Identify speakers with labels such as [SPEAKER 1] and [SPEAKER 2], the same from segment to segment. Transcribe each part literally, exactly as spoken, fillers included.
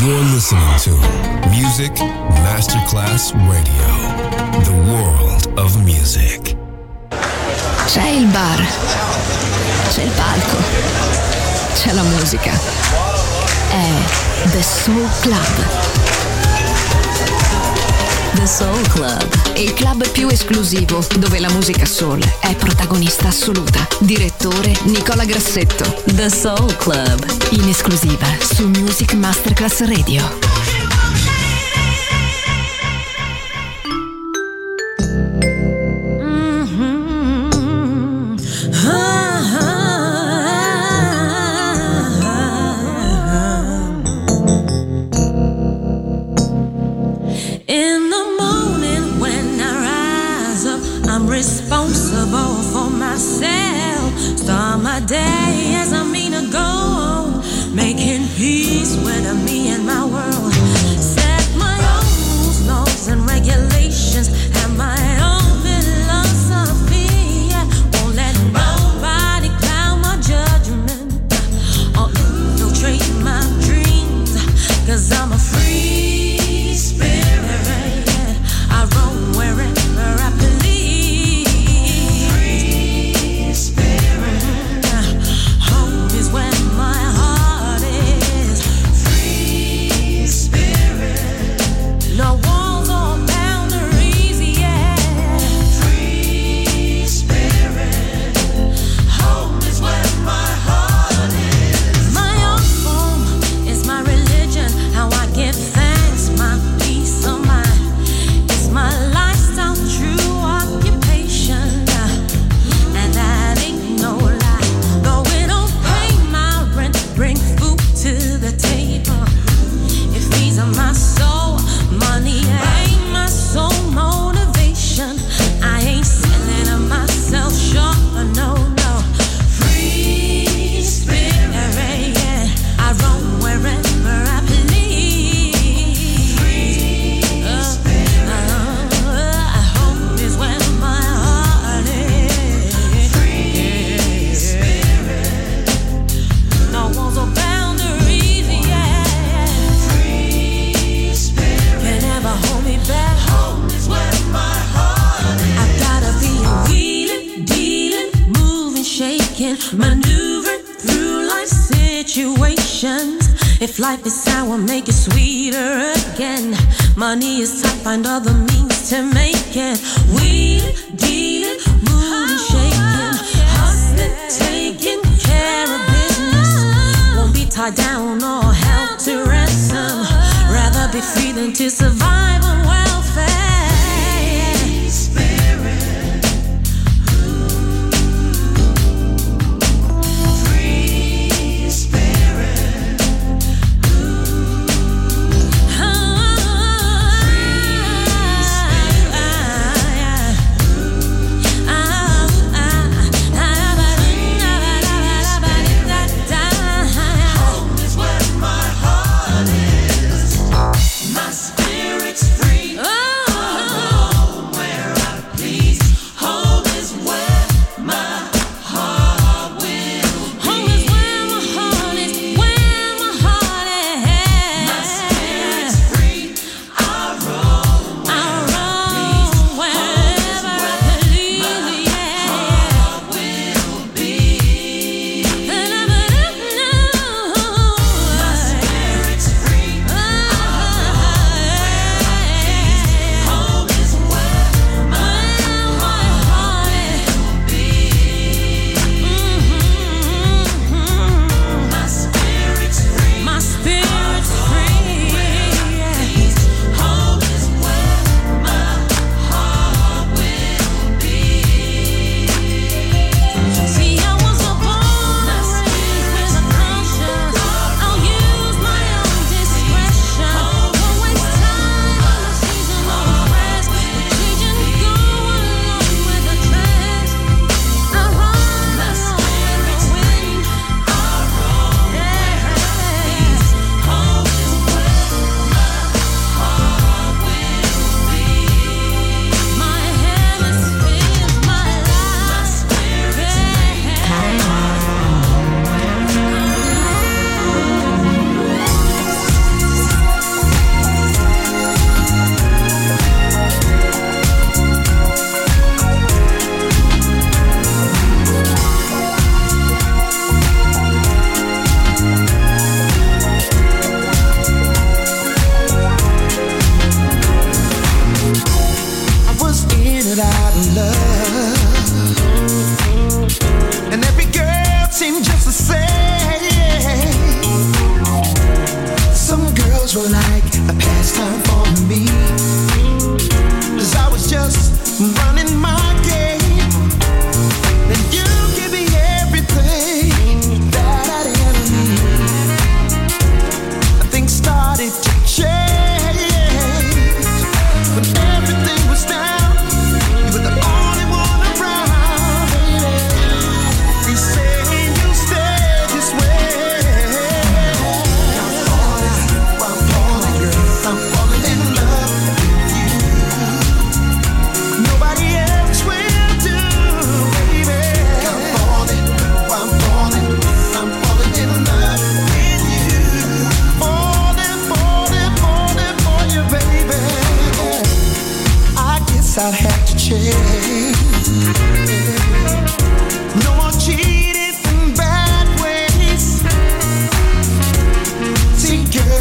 [SPEAKER 1] You're listening to Music Masterclass Radio, the world of music.
[SPEAKER 2] C'è il bar, c'è il palco, c'è la musica. È The Soul Club. The Soul Club, il club più esclusivo dove la musica soul è protagonista assoluta. Direttore Nicola Grassetto. The Soul Club, in esclusiva su Music Masterclass Radio.
[SPEAKER 3] Responsible for myself. Start my day as I mean to go, making peace with me and my world. Set my own rules, laws and regulations, and my own philosophy. Won't let nobody cloud my judgment or infiltrate my dreams, 'cause I'm a free spirit. I roam wherever I please. No walls or boundaries, yeah. Free spirit. Home is where my heart is. My own home is my religion. How I give thanks, my peace of mind. It's my lifestyle, true occupation. And that ain't no lie. Though it don't pay my rent, bring food to the table. It feeds on my soul. Money ain't my sole motivation. I ain't selling myself short, no, no. Free spirit, yeah. I roam wherever I please. Free uh, spirit. Uh, home is where my heart is. Free spirit. No walls or boundaries, yeah. Free spirit. Can never hold me back. Home is where my heart is. I gotta be wheeling, dealing, moving, shaking, maneuvering through life situations. If life is sour, make it sweeter again. Money is tight, find other means to make it. Wheeling, dealing, moving, shaking, hustling, taking care of business. Won't be tied down or held to ransom. Rather be free than to survive on welfare. Free spirit. Free spirit. Home is where my heart is. My spirit's free.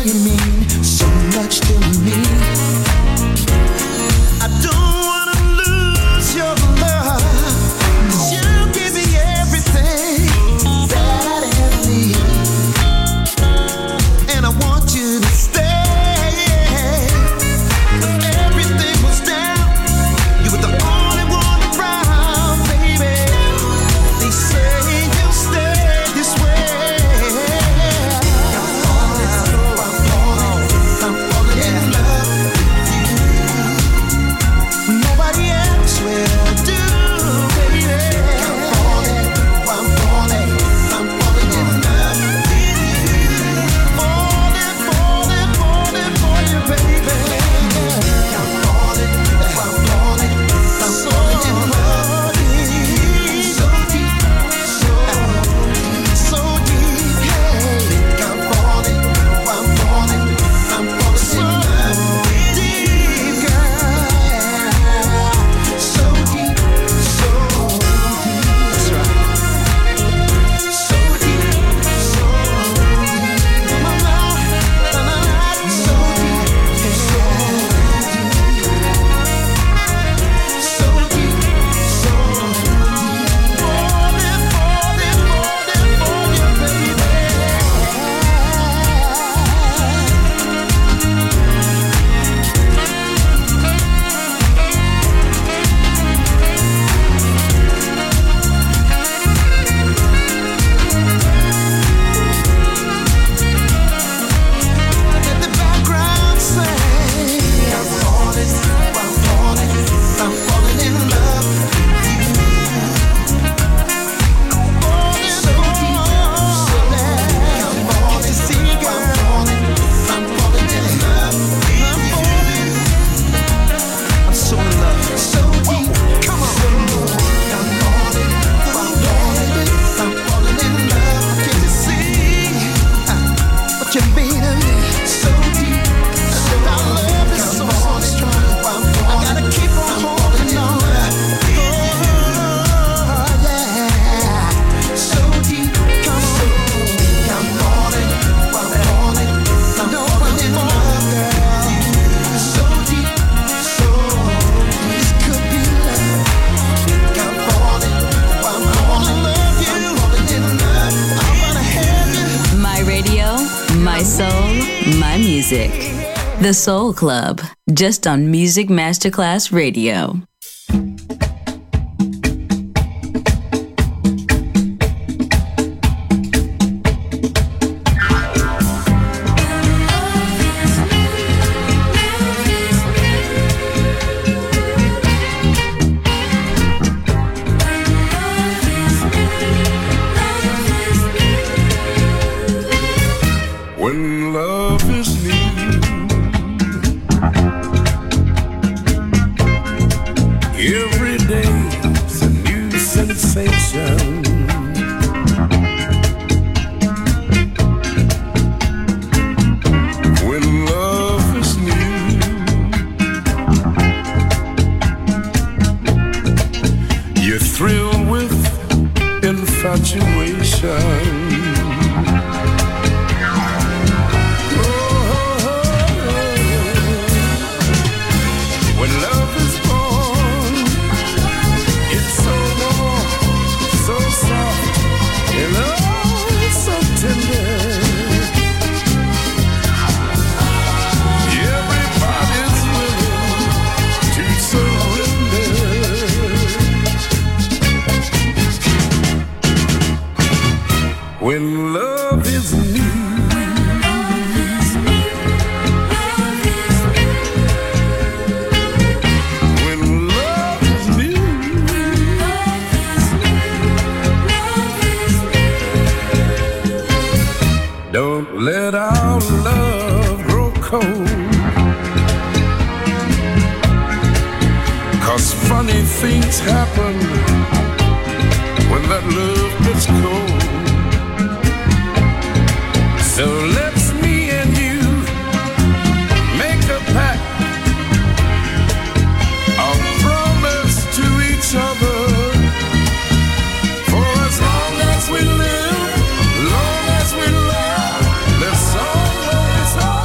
[SPEAKER 4] you mean so much to me. I don't wanna lose your love, 'cause you give me everything that I need, and I want you to stay. When everything was down, you were the only one around, baby. They say you'll stay this way. I'm falling, I'm falling, I'm falling in love with you. Nobody else will do, baby. I'm falling, I'm falling, I'm falling in love with you. Falling, falling, falling for you, baby. I'm falling, I'm falling, I'm falling in love with you. So deep, so so deep, hey. I'm falling, I'm falling, I'm falling in love with you, girl. So deep, so deep, that's right. So deep, so deep, mama, na na na, so deep, so deep, so deep, so deep, falling, falling, falling for you, baby. Let the background sing. I'm falling, I'm falling, I'm falling in love with you. Falling, so deep, so deep. I'm falling, see, I'm falling, I'm falling in love with you. I'm so in love, so deep. Come on, I'm falling, I'm falling, I'm falling in love. Can't you see what you mean to me? So deep, so our love is so, so strong. I gotta keep on holding on. Oh, yeah. So deep, come on. I'm falling, I'm falling, I'm falling in love, girl. So deep, so this could be love. I'm falling, I'm falling in love, you. I'm falling in love. I wanna have you.
[SPEAKER 2] My radio, my soul, my music. The Soul Club, just on Music Masterclass Radio.
[SPEAKER 5] When love is new, every day's a new sensation. When love is new, you're thrilled with infatuation. When love is born, it's so warm, so soft, and oh, so tender. Everybody's willing to surrender. When love is new, when love is new, don't let our love grow cold, 'cause funny things happen when that love gets cold. So let's me and you make a pact, a promise to each other, for as long as we live, long as we love, let's always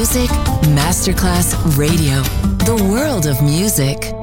[SPEAKER 2] Music Masterclass Radio. The world of music.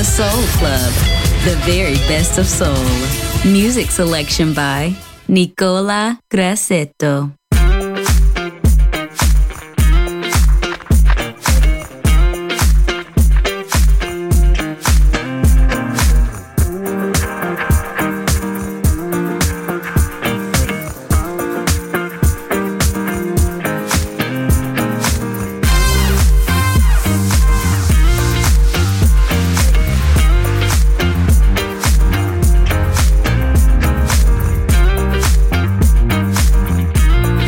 [SPEAKER 2] The Soul Club, the very best of soul. Music selection by Nicola Grassetto.
[SPEAKER 3] Thank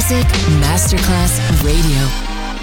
[SPEAKER 2] Music Masterclass Radio.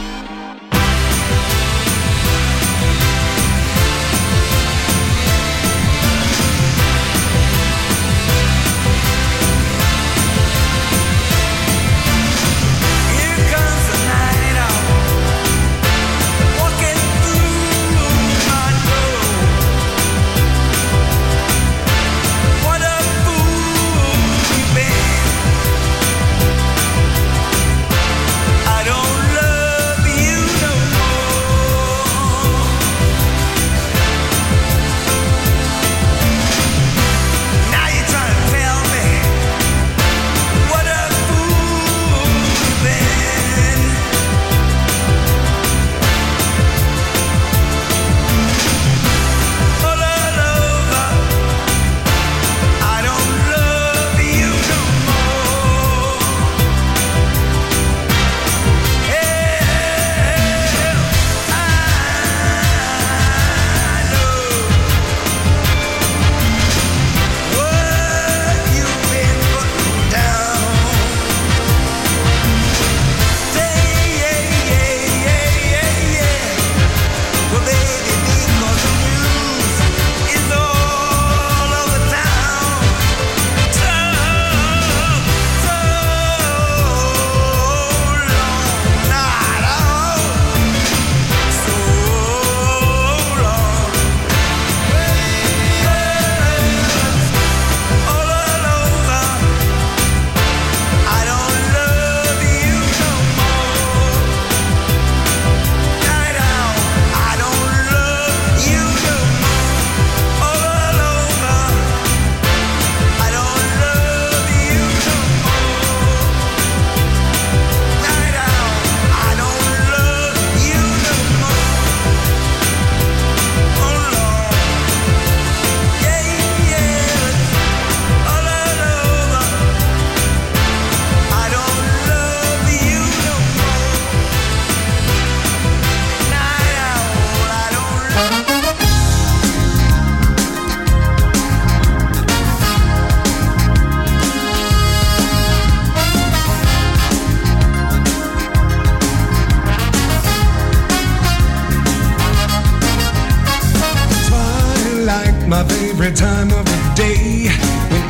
[SPEAKER 6] My favorite time of the day, when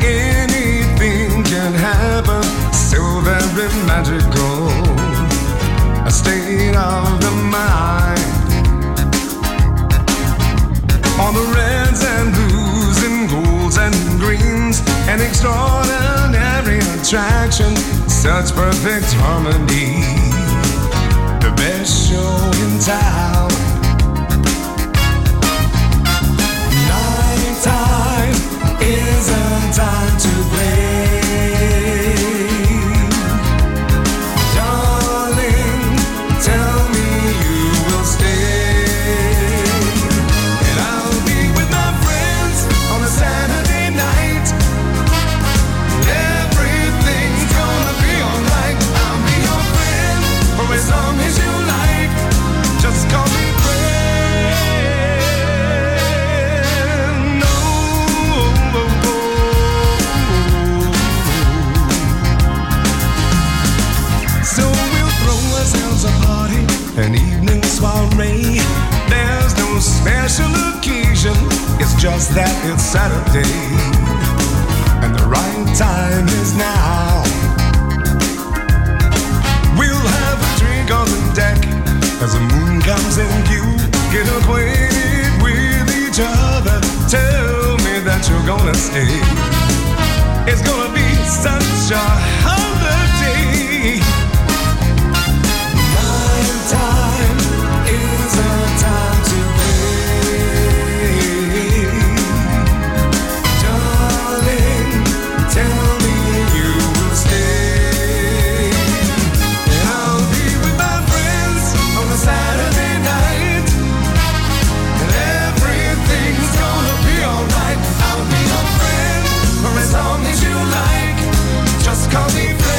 [SPEAKER 6] anything can happen, so very magical, a state of the mind. All the reds and blues and golds and greens, an extraordinary attraction, such perfect harmony, the best show in town. Time is a time to play. Darling, tell me you will stay. And I'll be with my friends on a Saturday night. Everything's gonna be alright. I'll be your friend for as long as you like. Just call me friend. A party, an evening soiree. There's no special occasion, it's just that it's Saturday, and the right time is now. We'll have a drink on the deck as the moon comes in view. Get acquainted with each other. Tell me that you're gonna stay. It's gonna be such a holiday. Time is a time to play. Darling, tell me you will stay. And I'll be with my friends on a Saturday night. And everything's gonna be alright. I'll be your friend for as long as you like. Just call me friend.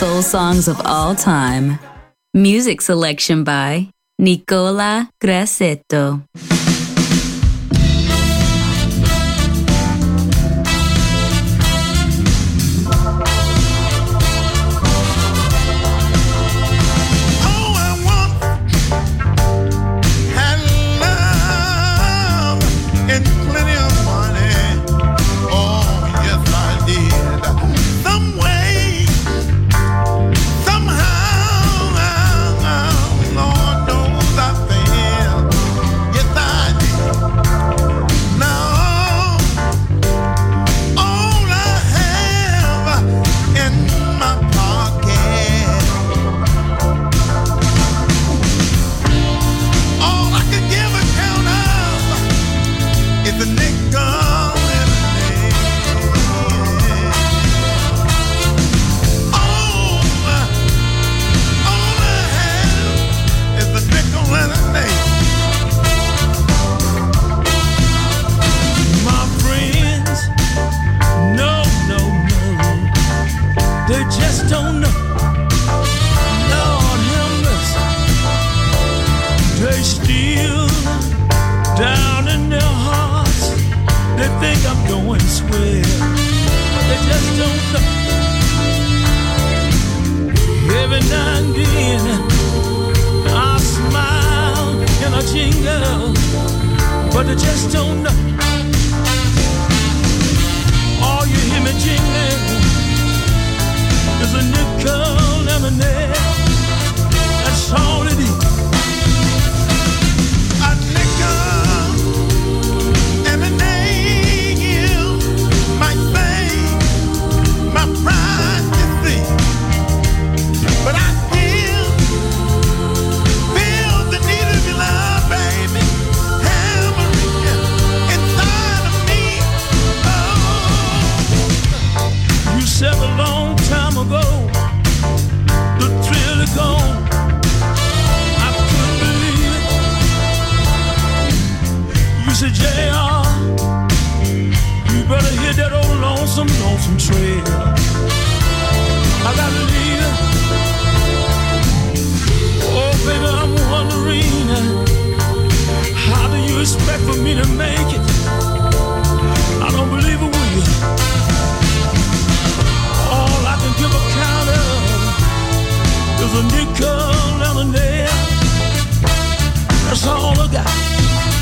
[SPEAKER 7] soul songs of all time. Music selection by Nicola Grassetto.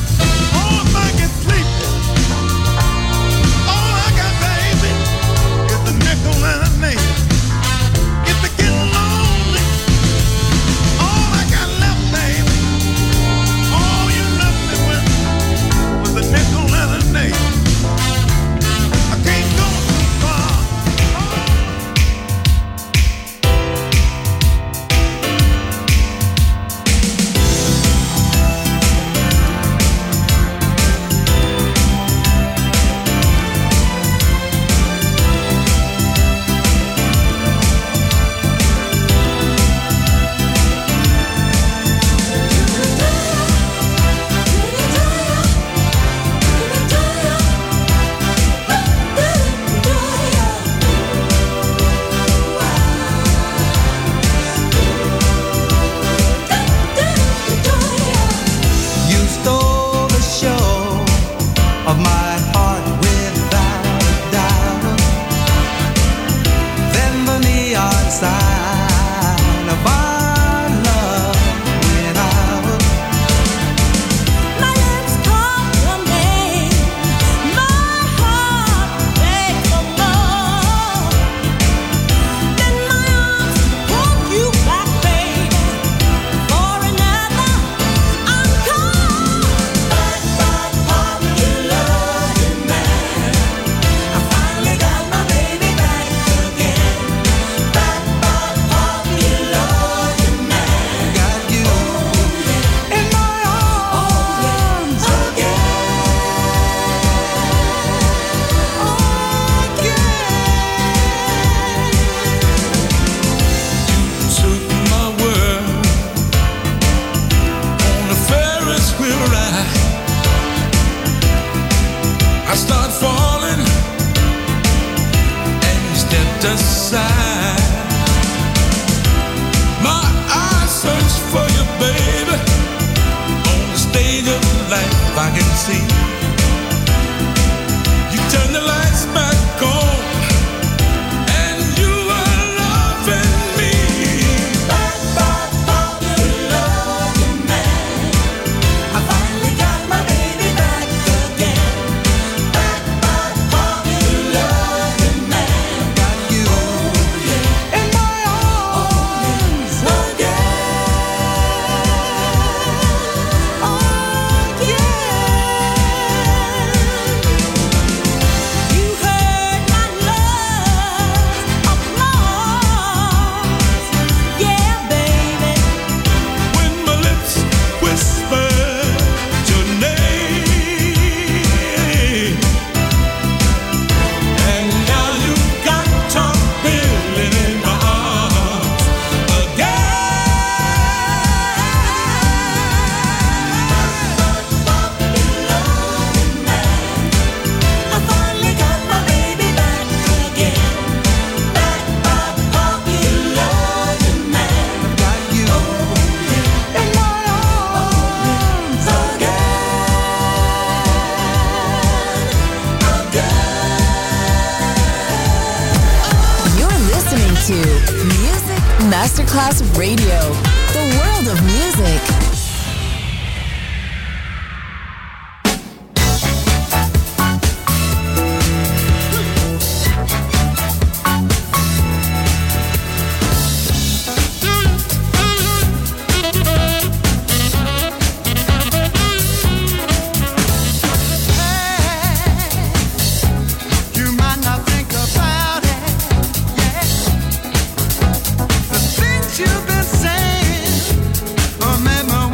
[SPEAKER 4] All I got, baby, is
[SPEAKER 5] see. You turn the lights back on, and you are loving me. Back, back, popular man. I finally got my baby back again. Back, back, popular man. Got you, oh, yeah, in my arms again. Oh, yeah. You heard my love applause. Yeah, baby. When my lips whispered your name, and now you got Tom Billing in my arms again. I finally got my baby back again. Back by popular demand. Got you in my arms again.
[SPEAKER 2] You're listening to Music Masterclass Radio, the world of music.
[SPEAKER 4] You might not think about it, yeah. The things you've been saying, or made my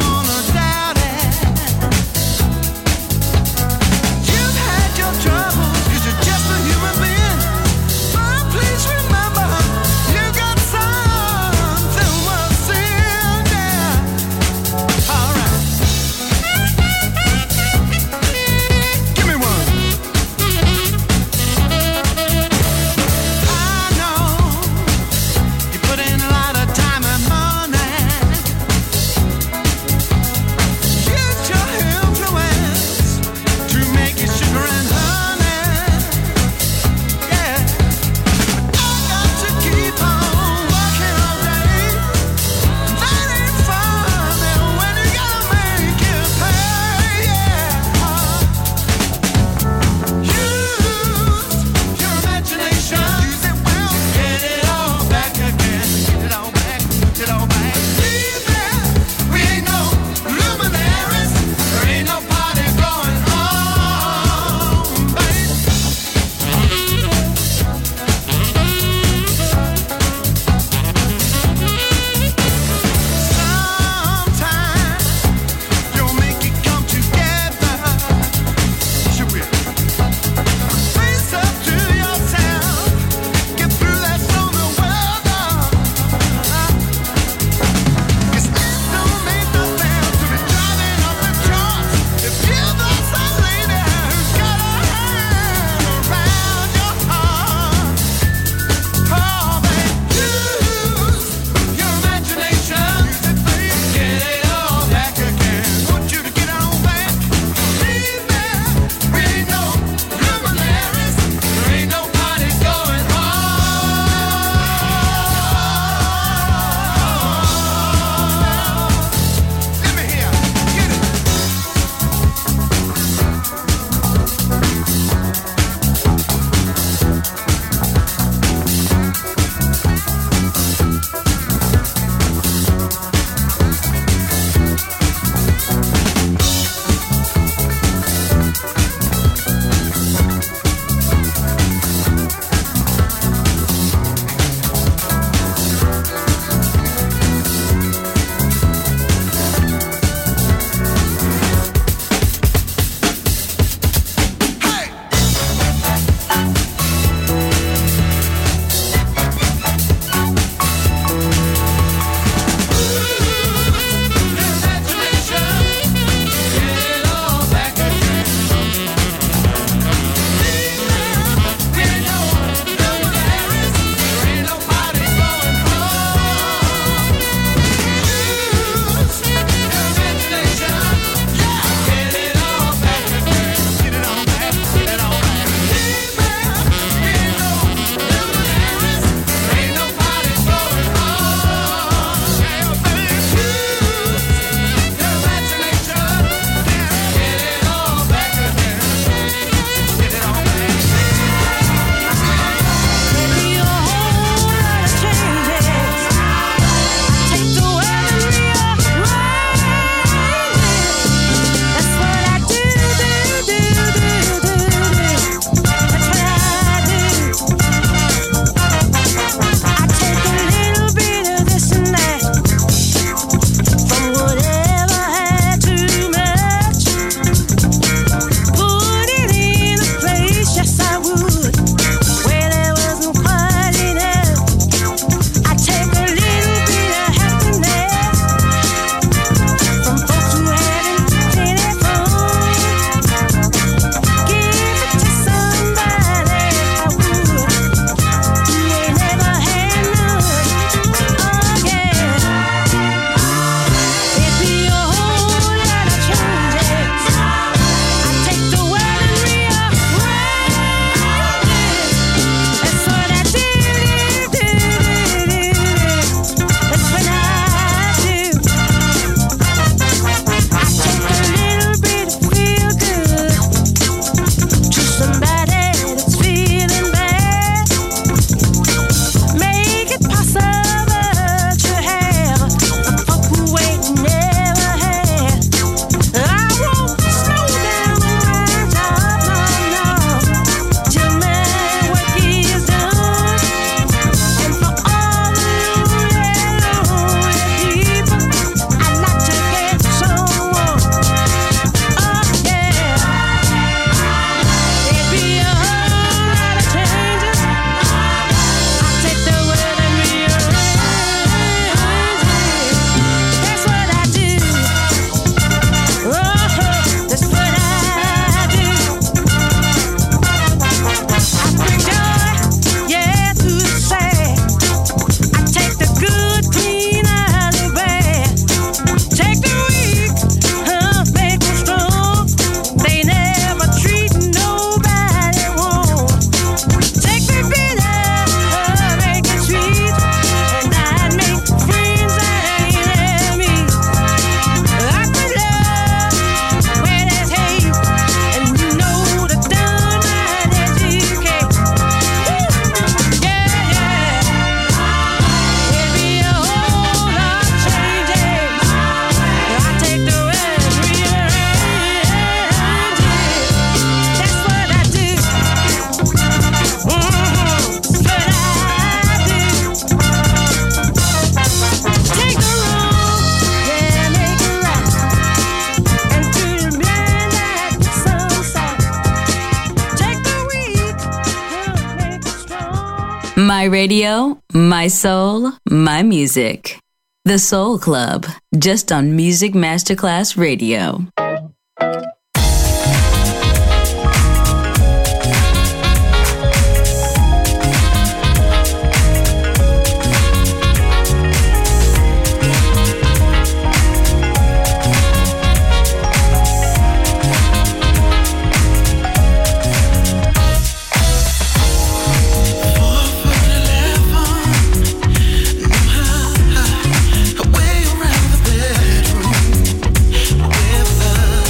[SPEAKER 7] My radio, my soul, my music. The Soul Club, just on Music Masterclass Radio.
[SPEAKER 3] Way around the bedroom with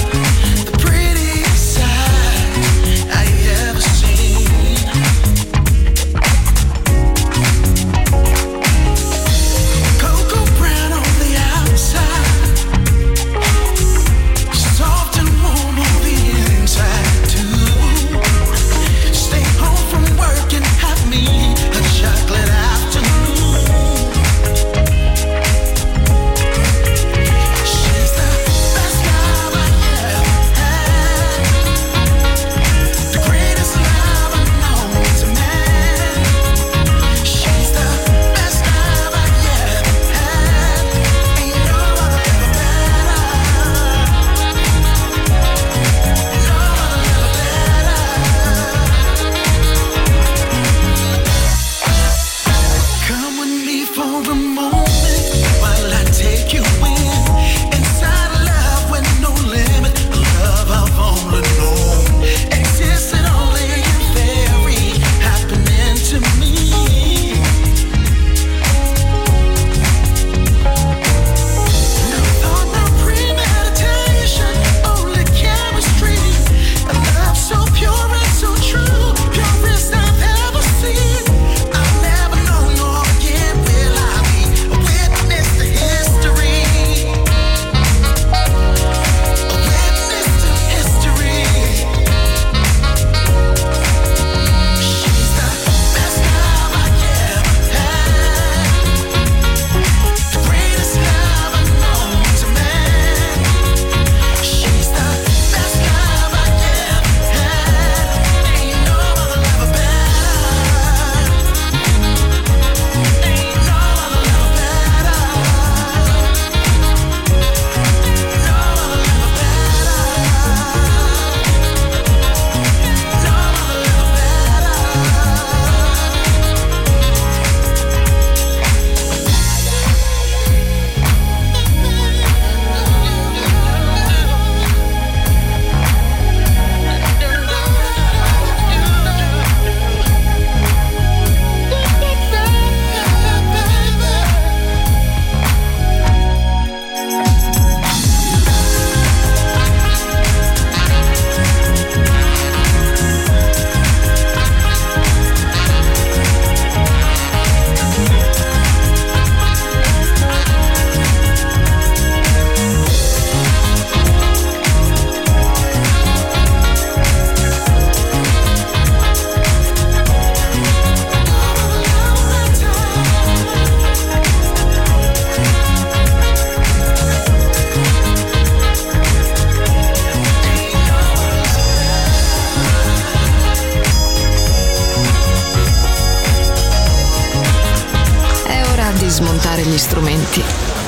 [SPEAKER 2] smontare gli strumenti,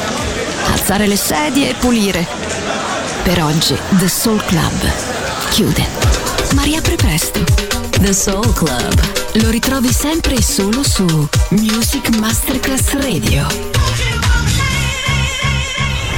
[SPEAKER 2] alzare le sedie e pulire. Per oggi The Soul Club chiude, ma riapre presto. The Soul Club lo ritrovi sempre e solo su Music Masterclass Radio.